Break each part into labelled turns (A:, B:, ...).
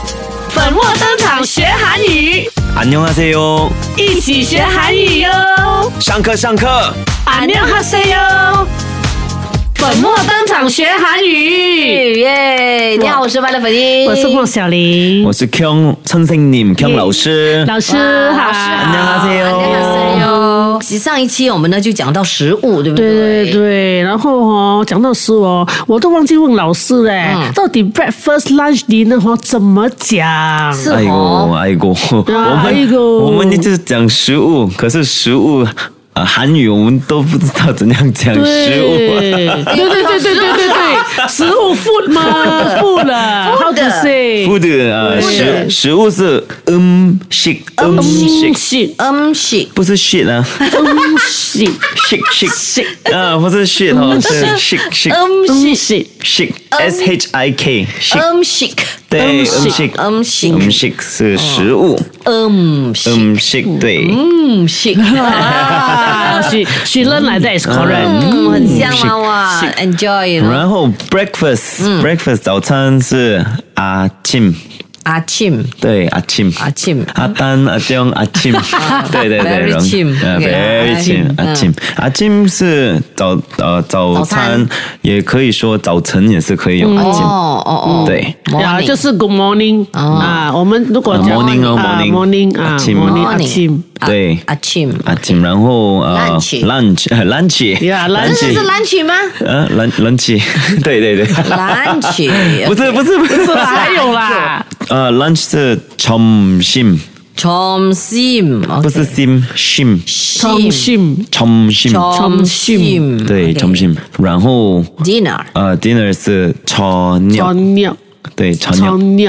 A: 粉墨登场学韩语，
B: 안녕하세요，
A: 一起学韩语哟！
B: 上课上课。
A: 안녕하세요， 粉墨登场学韩语。
C: 耶！你好，我是麦乐粉英，
A: 我是莫小玲，
B: 我是 Kyung老师。
A: 老师好，
B: 안녕하세요。
C: 其实上一期我们呢就讲到食物，对不对？
A: 对对对，然后讲到食物我都忘记问老师嘞，到底 breakfast lunch dinner 怎么讲？
C: 是
B: 哎呦，我们一直讲食物，可是食物韩语我们都不知道怎样讲食物。
A: 对，食物 food 吗 ？food 了 ，how to say？
B: food 食物是shit， 不是 shit 啊，shit 啊，不是 shit 哦，是 shit shik shik， 对，shik 是食物，shik 对
C: ，shik
A: she learn like that is correct，
C: 很香哇 ，enjoy。
B: 然后 breakfast 早餐是아침， 对아침， 아단 아정 아침， 对
C: ，very
B: chim，a침是早餐，也可以说早晨也是可以用a침，对，
A: 就是 good morning 啊，我们如果讲
B: morning
A: morning 啊 morning
B: 对a침，然后lunch，
C: 真的是 lunch 吗
B: ？lunch， 对
C: ，lunch
B: 不是，
A: 还有啦。
B: lunch 是점심， 不是심， 점심， 对점심， 然后 dinner 是저녁， 对저녁，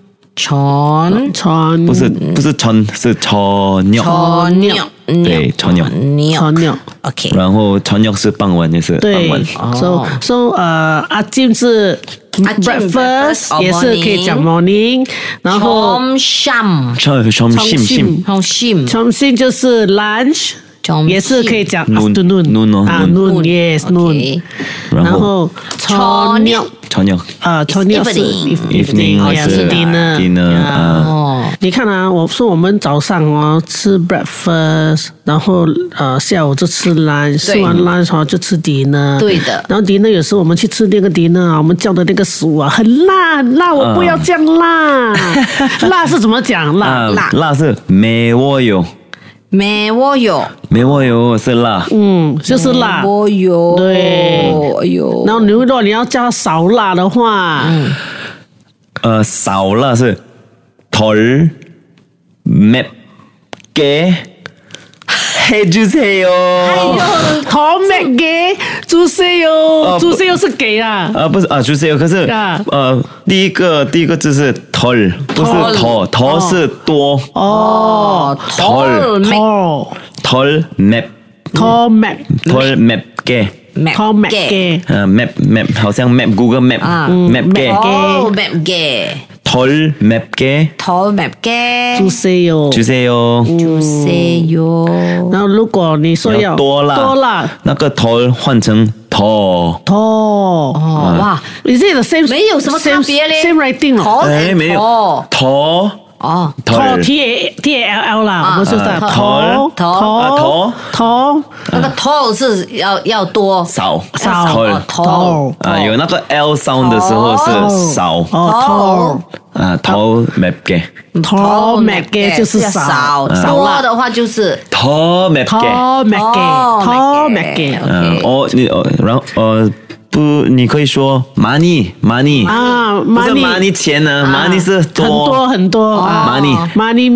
B: 不是전是저녁， 对저녁，
C: OK，
B: 然后저녁是傍晚，也是傍晚。
A: So 아침是 breakfast， 也是可以讲 morning， 然后점심就是 lunch， 也是可以讲 afternoon yes noon， 然后저녁是 evening， 是 dinner。你看啊，我说我们早上吃 breakfast， 然后下午就吃 lunch， 吃完 lunch 就吃 dinner。
C: 对的。
A: 然后 dinner 有时候我们去吃那个 dinner， 我们叫的那个食物很辣，我不要这样辣。辣是怎么讲？
B: 辣是매워요， 是辣，
A: 就是辣。对，然后如果你要叫少辣的话，
B: 少辣是덜 맵게 해주세요。
A: 덜 맵게 주세요是给啊。
B: 不是주세요， 可是第一个字是덜， 不是더是多。덜 맵게。 map 好像 map Google map 맵게 덜 맵게 주세요。
A: 然后如果你说要多辣，
B: 那个덜换成더。
C: 哇，
A: 你这个 same
C: 没有什么差别嘞
A: ，same writing 了。
B: 没有더。
A: T-A-L-L 啦，我们是的
B: 头，
C: 那个头是要多
B: 少
C: 头
B: 有那个 L sound 的时候是少头맵게
A: 就是少
C: 多的话就是
B: 더 맵게。 然后不，你可以说많이不是많이钱呢，많이是多
A: 很多많이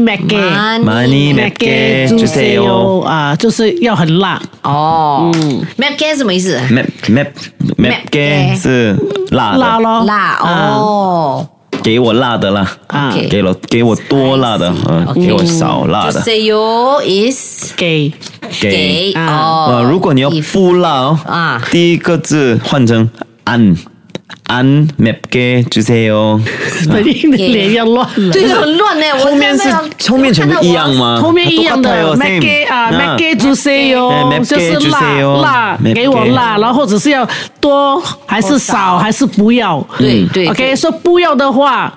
A: 맵게 주세요就是要很辣。
C: 맵게什么意思
B: ？맵게是辣咯，给我辣的啦，给我多辣的，给我少辣的。
C: 주세요 is
A: 给。
B: 如果你要不辣第一个字换成안 맵게 주세요。
A: 本英的脸要乱了，
C: 对，很乱呢。
B: 后面全部一样吗？
A: 后面一样的 맵게 주세요， 就是辣，给我辣，然后或者是要多还是少还是不要？
C: 对。
A: OK， 说不要的话。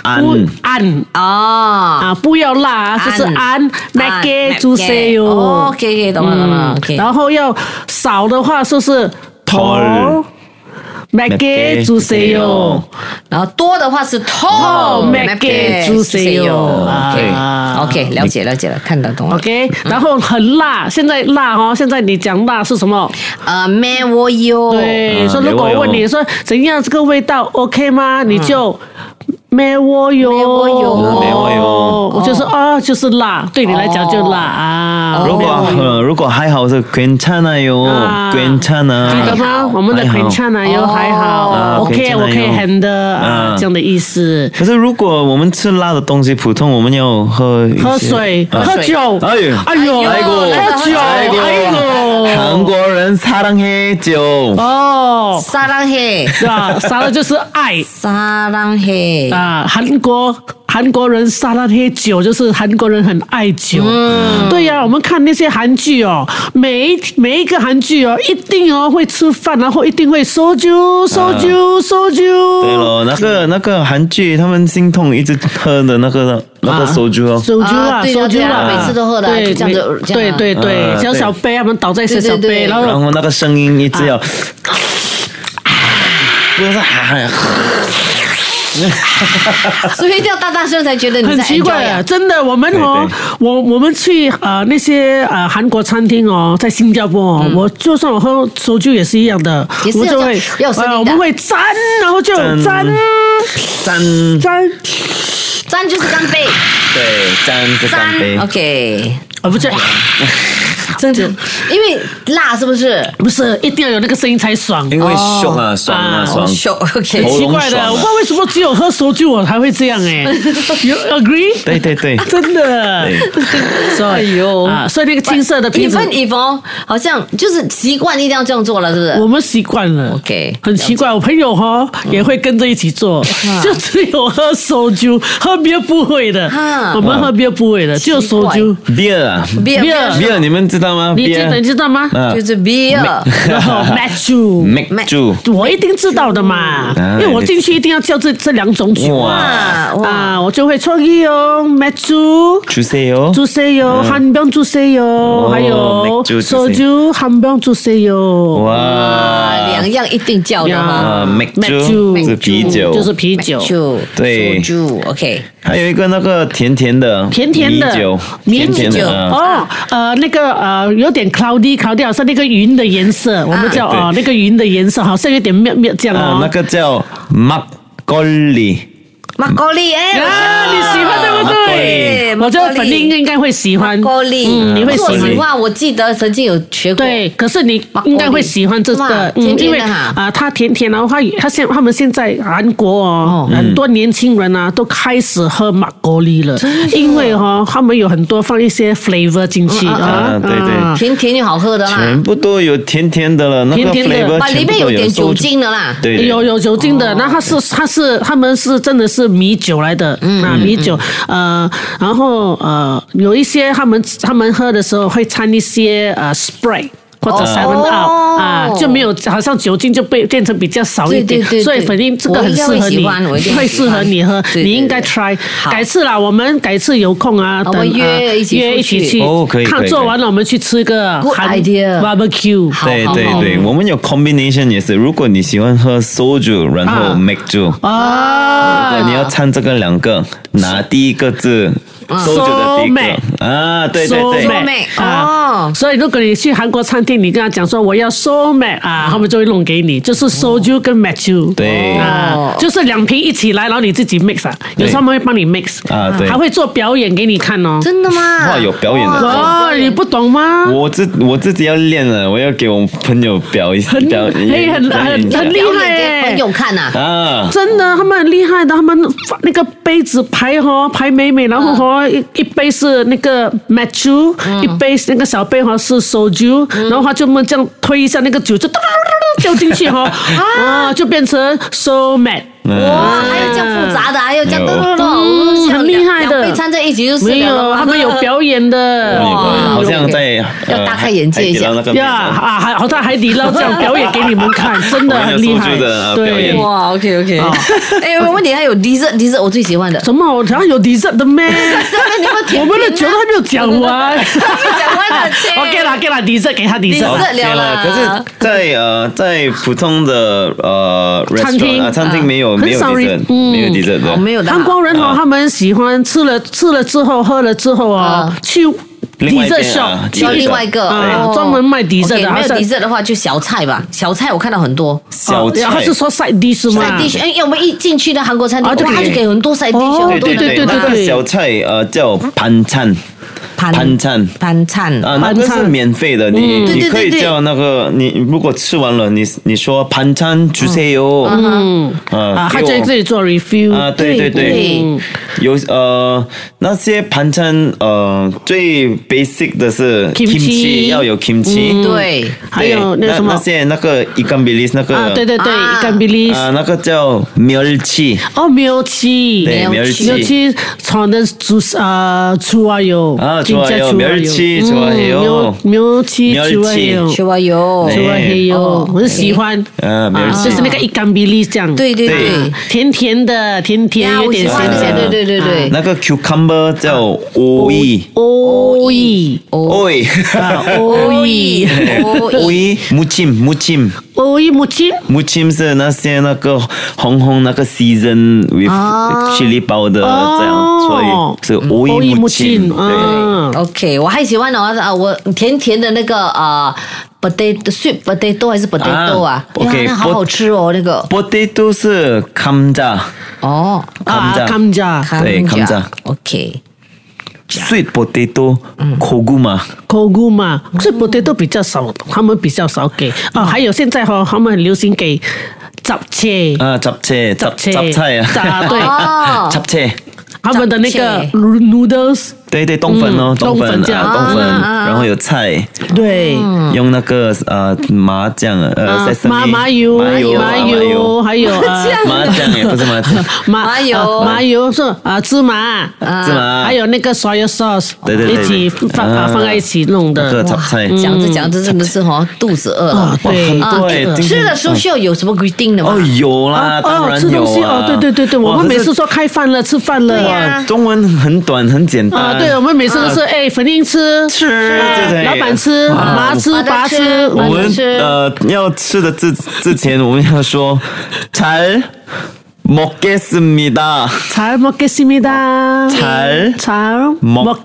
A: 不要辣，就是安 make 猪塞哟。
C: OK， 懂了。
A: 然后要少的话，就是头。make 猪塞哟，
C: 然后多的话是头
A: make 猪塞哟。
C: OK， 了解了，看得懂了。
A: OK， 然后很辣，现在辣哦，现在你讲辣是什么
C: ？매워哟。
A: 对，所以如果我问你说怎样这个味道 OK 吗？你就。매워哟，我就说就是辣，对你来讲就辣啊。
B: 如果还好是괜찮아요，괜찮아，
A: 记得吗？我们的괜찮아요还好 ，OK， 我可以handle这样的意思。
B: 可是如果我们吃辣的东西，普通我们要喝
A: 水、喝酒。
B: 哎呦，
A: 喝酒，
B: 韩国人사랑해酒。
C: 사랑해，
A: 对吧？사랑就是爱。
C: 사랑해。
A: 韩国人撒那些酒，就是韩国人很爱酒。对呀，我们看那些韩剧哦，每一个韩剧哦，一定会吃饭，然后一定会收酒。对
B: 了，那个韩剧他们心痛一直喝的那个收酒
A: 哦，收酒啊，
C: 每次都喝的，这样子。
A: 对，小杯，他们倒在小杯，然
B: 后那个声音一直要，不是
C: 所以一定要大声才觉得你
A: 很奇怪啊！真的，我们去那些韩国餐厅哦，在新加坡哦，我就算我喝烧酒也是一样的，我们就会我们会沾，然后就沾
C: 就是干杯，
B: 对，沾是干杯
C: ，OK，
A: 不是。
C: 真的，因为辣是不是？
A: 不是，一定要有那个声音才爽。
B: 因为凶啊，爽。
C: OK，
A: 很奇怪的，我不知道为什么只有喝烧酒我才会这样You agree？
B: 对，
A: 真的。
C: 哎呦
A: 所以那个金色的瓶子，
C: 好像就是习惯一定要这样做了，是不是？
A: 我们习惯了。
C: OK，
A: 很奇怪，我朋友也会跟着一起做，就只有喝烧酒，喝别不会的。我们喝别不会的，只有烧酒。
B: beer，你们知道吗？
A: 你知道吗？
C: 就是 beer，
A: 然后
B: Mac
A: 我一定知道的嘛，因为我进去一定要叫这两种酒我就会创意Mac
B: 주세요，
A: 한 병 주세요， 还有소주 한 병 주세요。
B: 哇，
C: 两样一定叫的吗
B: ？Mac 是啤酒，
A: 就是啤酒，
B: 对
C: ，OK。
B: 还有一个那个甜甜的
A: 米酒那个有点 cloudy， 好像那个云的颜色，我们叫那个云的颜色，好像有点妙这样
B: 那个叫막걸리。
C: 你喜
A: 欢对不对？我觉得粉玲应该会喜欢。你会
C: 喜欢？我记得曾经有学过。
A: 对，可是你应该会喜欢这个，因为它甜甜，然后他们现在韩国很多年轻人都开始喝马格利了，因为他们有很多放一些 flavor 进去
B: 对，
C: 甜又好喝的啦，
B: 全部都有甜甜的了，那个 flavor
C: 里面有点酒精的啦，
B: 对，
A: 有酒精的，那他们是真的是米酒来的，米酒，然后有一些他们喝的时候会掺一些Sprite。或者7 Up 就没有，好像酒精就变成比较少一点，所以粉玲这个很适合你，会适合你喝，你应该 try。改次啦，我们改次有空等
C: 约一起
A: 去，看做完了我们去吃个
C: Good idea
A: barbecue。
B: 对，我们有 combination 也是，如果你喜欢喝soju，然后 make 酒如果你要掺这个两个，拿第一个字。soju 的第一个对，
A: 所以如果你去韩国餐厅，你跟他讲说我要 soulmate 他们就会弄给你，就是 soju 跟 machu，
B: 对
A: 就是两瓶一起来，然后你自己 mix 有时候他们会帮你 mix
B: 对，
A: 还会做表演给你看
C: 真的吗？
B: 哇，有表演的
A: 你不懂吗？
B: 我自己要练了，我要给我朋友表演，很
A: 厉害
C: 朋友看
A: 真的他们很厉害的，他们那个杯子排美，然后一杯是那个 machu， 一杯那个小杯是 soju， 然后他就这样推一下那个酒就掉进去就变成 soulmate。
C: 哇，还有这样复杂的，还有这样
A: 很厉害的，
C: 两杯掺在一起就
A: 没有，他们有表演的，
B: 好像在
C: 要大开眼界一下
A: 呀好在海底捞这样表演给你们看，真的很厉害。
B: 对，
C: 哇 ，OK， 哎，问题还有 dessert， 我最喜欢的。
A: 什么？好像有 dessert 的咩？我们的酒都还没有讲完。
C: 讲完了
A: ，OK 啦 dessert 给他 dessert
B: 了。可是，在普通的餐厅没有 dessert， 没有 dessert 的。
C: 没有的。
A: 韩国人他们喜欢吃了之后喝了之后去。dessert shop
C: 去另外一个
A: 专门卖 dessert 的，
C: 没有 dessert 的话就小菜吧，小菜我看到很多。
B: 小菜，
A: 他是说 side dish 吗
C: ？side dish， 因为我们一进去的韩国餐厅，他就给很多 side dish。
B: 对，那个小菜叫盘餐。盘餐那个是免费的，你可以叫那个你如果吃完了，你说盘餐주세요，
A: 他在这里做 review
B: 对，有那些盘餐最 basic 的是 kimchi， 要有 kimchi，
C: 对，
A: 还有那什么
B: 那个ikan bilis那个
A: 对ikan bilis
B: 那个叫멸치，
A: 멸치 저는 좋아요。
B: 좋아요. 멸치 좋아해요.
A: 멸치 좋아요. 我很喜欢。就是那个ikan bilis这样。
C: 对，
A: 甜甜的，有点咸咸。
C: 对。
B: 那个 cucumber 叫오이 무침是那些那个红那个 season with chili powder 这样，所以是오이 무침。
C: 对 ，OK， 我还喜欢我甜的那个sweet potato 还是 potato 啊 ？OK， 好好吃哦，那个
B: potato 是감자。
A: 감자，
B: 对감자。
C: OK。Sweet
B: potato， 고구마
A: ，sweet potato 比较少，他们比较少给。还有现在他们很流行给杂菜
B: 杂菜啊，
A: 对，
B: 杂菜。
A: 他们的那个 noodles，
B: 对，冬粉冬粉，然后有菜，
A: 对，
B: 用那个麻酱
A: 麻油，还有
B: 麻酱也不是麻酱，
A: 麻油是芝麻，还有那个 soy sauce，
B: 对，
A: 一起放在一起弄的。
B: 这个杂菜，
C: 讲着真的是肚子饿了。
A: 对，
C: 吃的时候需要有什么规定的吗？
B: 有啦，当然有啊。
A: 对，我们每次说开饭了，吃饭了。
B: 中文很短很简单。
A: 对，我们每次都是粉英吃，老板吃，妈吃，爸吃。
B: 我们要吃的之前，我们要说잘 먹겠습니다.
A: 잘 먹겠습니다.
B: 잘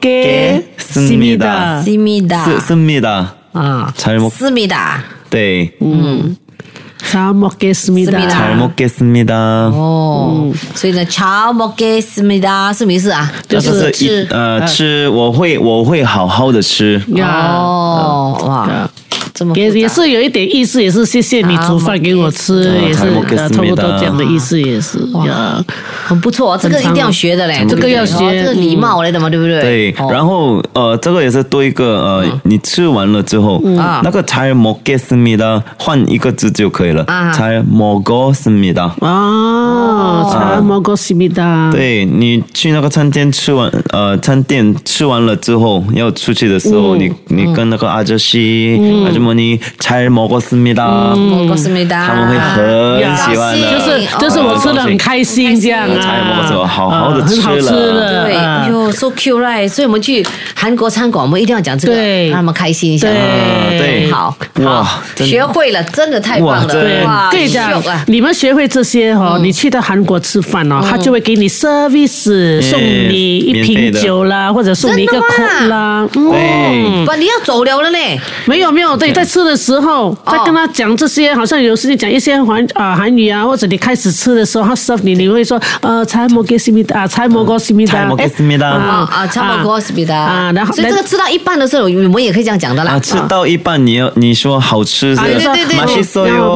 B: 먹겠습니다. 씁니다.
C: 잘 먹습니다.
B: 네.
A: 잘 먹겠습니다.
B: 잘 먹겠습니다.
C: 所以呢，잘 먹겠습니다什么意思啊？
B: 就是吃，我会好好的吃。
C: 哇。
A: 也是有一点意思，也是谢谢你煮饭给我吃，也是差不多这样的意思，也是
C: 很不错，这个一定要学的嘞，
A: 这个要学，
C: 这个礼貌来的嘛，对不对？
B: 对，然后这个也是多一个你吃完了之后，那个잘 먹겠습니다换一个字就可以了，잘 먹었습니다。
A: 잘 먹었습니다。
B: 对，你去那个餐店吃完了之后，要出去的时候，你跟那个아저씨아주머니 잘 먹었습니다， 他们会很喜欢的，
A: 就是我吃的很开心这样
B: 잘 먹었어， 好好的吃了，
C: 对，哎呦 ，so cute right， 所以我们去韩国餐馆，我们一定要讲这个，让他们开心一下，
B: 对，
C: 好，学会了，真的太棒了，
A: 哇，跟你讲，你们学会这些你去到韩国吃饭他就会给你 service， 送你一瓶酒啦，或者送你一个 coke 啦，
C: 不，你要走了呢。
A: 没有，对，在吃的时候，在跟他讲这些，好像有时间讲一些韩语或者你开始吃的时候，他 serve你会说잘 먹겠습니다， 잘 먹었습니다，
C: 잘 먹었습니다， 然后所以这个吃到一半的时候，我们也可以这样讲的啦。
B: 吃到一半你说好吃，
C: 对
B: ，맛있어요，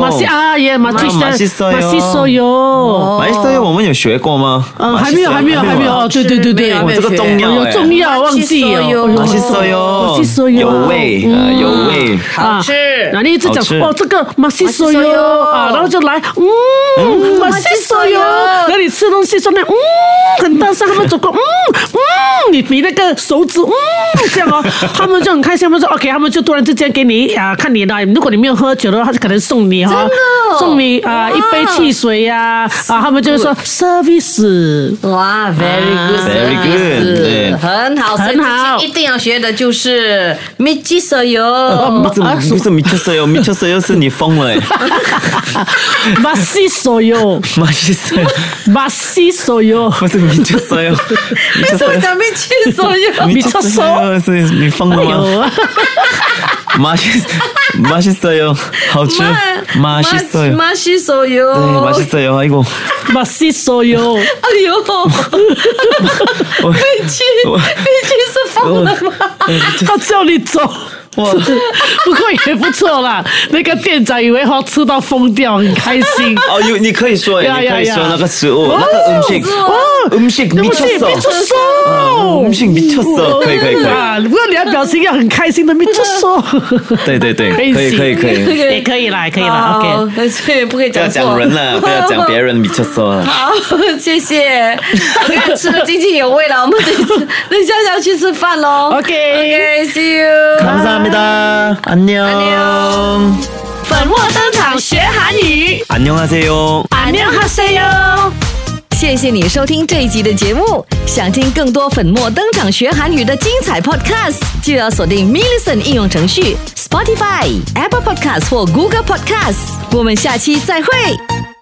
A: 맛있어요，
B: 我们有学过吗？
A: 还没有，对，
B: 我这个
A: 重要忘记
B: ，맛있어요，有味，
C: 好吃。
A: 然后你一直讲这个맛있어요，然后就来맛있어요，然后你吃东西说很大声，他们走过你比那个手指这样哦，他们就很开心，他们说 OK， 他们就突然之间给你看你的，如果你没有喝酒的话，他就可能送你送你一杯汽水呀他们就说 service。
C: 哇 ，very good， 很好，很好，一定要学的就是미쳤어요。
B: 不是미쳤어요是你疯了
A: 맛있어요。
B: 不是미쳤어요。
C: 为什么讲
B: 미쳤어요是你疯了吗？맛있어요， 好吃。
C: 맛있어요。
B: 对，맛있어요。 아이고。
C: 맛있어요。 哎呦，飞机是疯了吗？
A: 他叫你走。哇，不过也不错啦。那个店长以为吃到疯掉，很开心。
B: 哦，你可以说，你可以说那个食物，那个음식 미쳤어。 음식 미쳤어。 可以。
A: 不过你要表情要很开心的미쳤어。
B: 对，可以，
A: 也可以啦，OK。
C: 所以不可以讲错。
B: 不要讲人了，不要讲别人미쳤어。
C: 好，谢谢。吃得津津有味了，我们等一下要去吃饭喽。OK，see you。
B: 안녕。
A: 粉墨登场学韩语。
B: 안녕하세요。
A: 안녕하세요。
C: 谢谢你收听这一集的节目。想听更多粉墨登场学韩语的精彩 podcast， 就要锁定 Millicent 应用程序、Spotify、Apple Podcasts 或 Google Podcasts。我们下期再会。